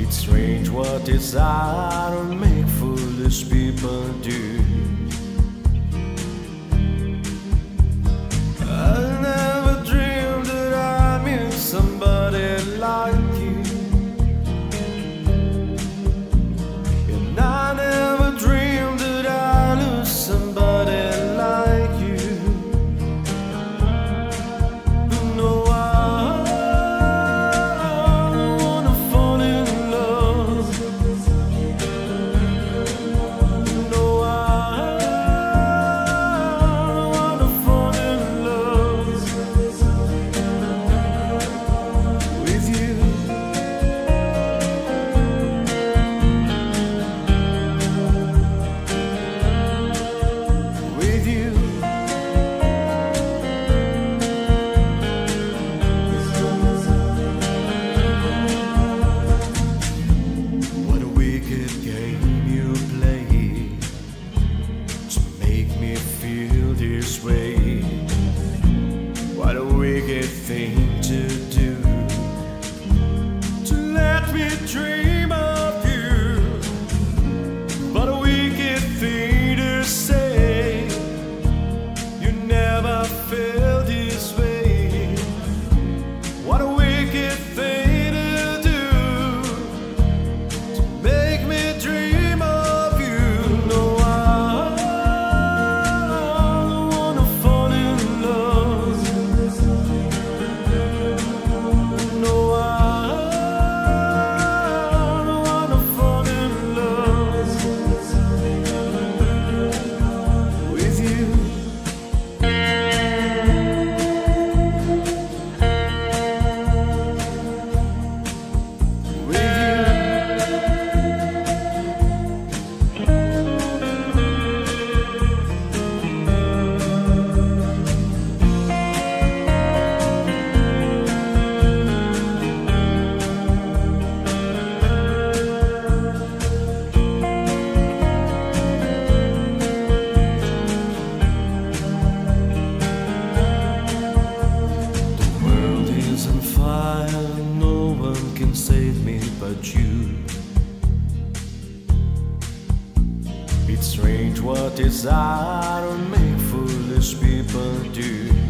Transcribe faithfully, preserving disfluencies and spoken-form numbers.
It's strange what desire make foolish people do. I never dreamed that I'd meet somebody like you, and I never dreamed that I'd lose somebody like you. No, I don't wanna fall in love. No, I don't wanna fall in love with you. With you. What a wicked game you play to make me feel this way. What a wicked thing to do, to let me dream of you. What a wicked thing to say, you never felt this way. What a wicked thing to do, to make me dream of you. No, I don't wanna fall in love. No, I don't wanna fall in love with you. With you. The world is on fire, no one can save me but you. It's strange what desire make foolish people do.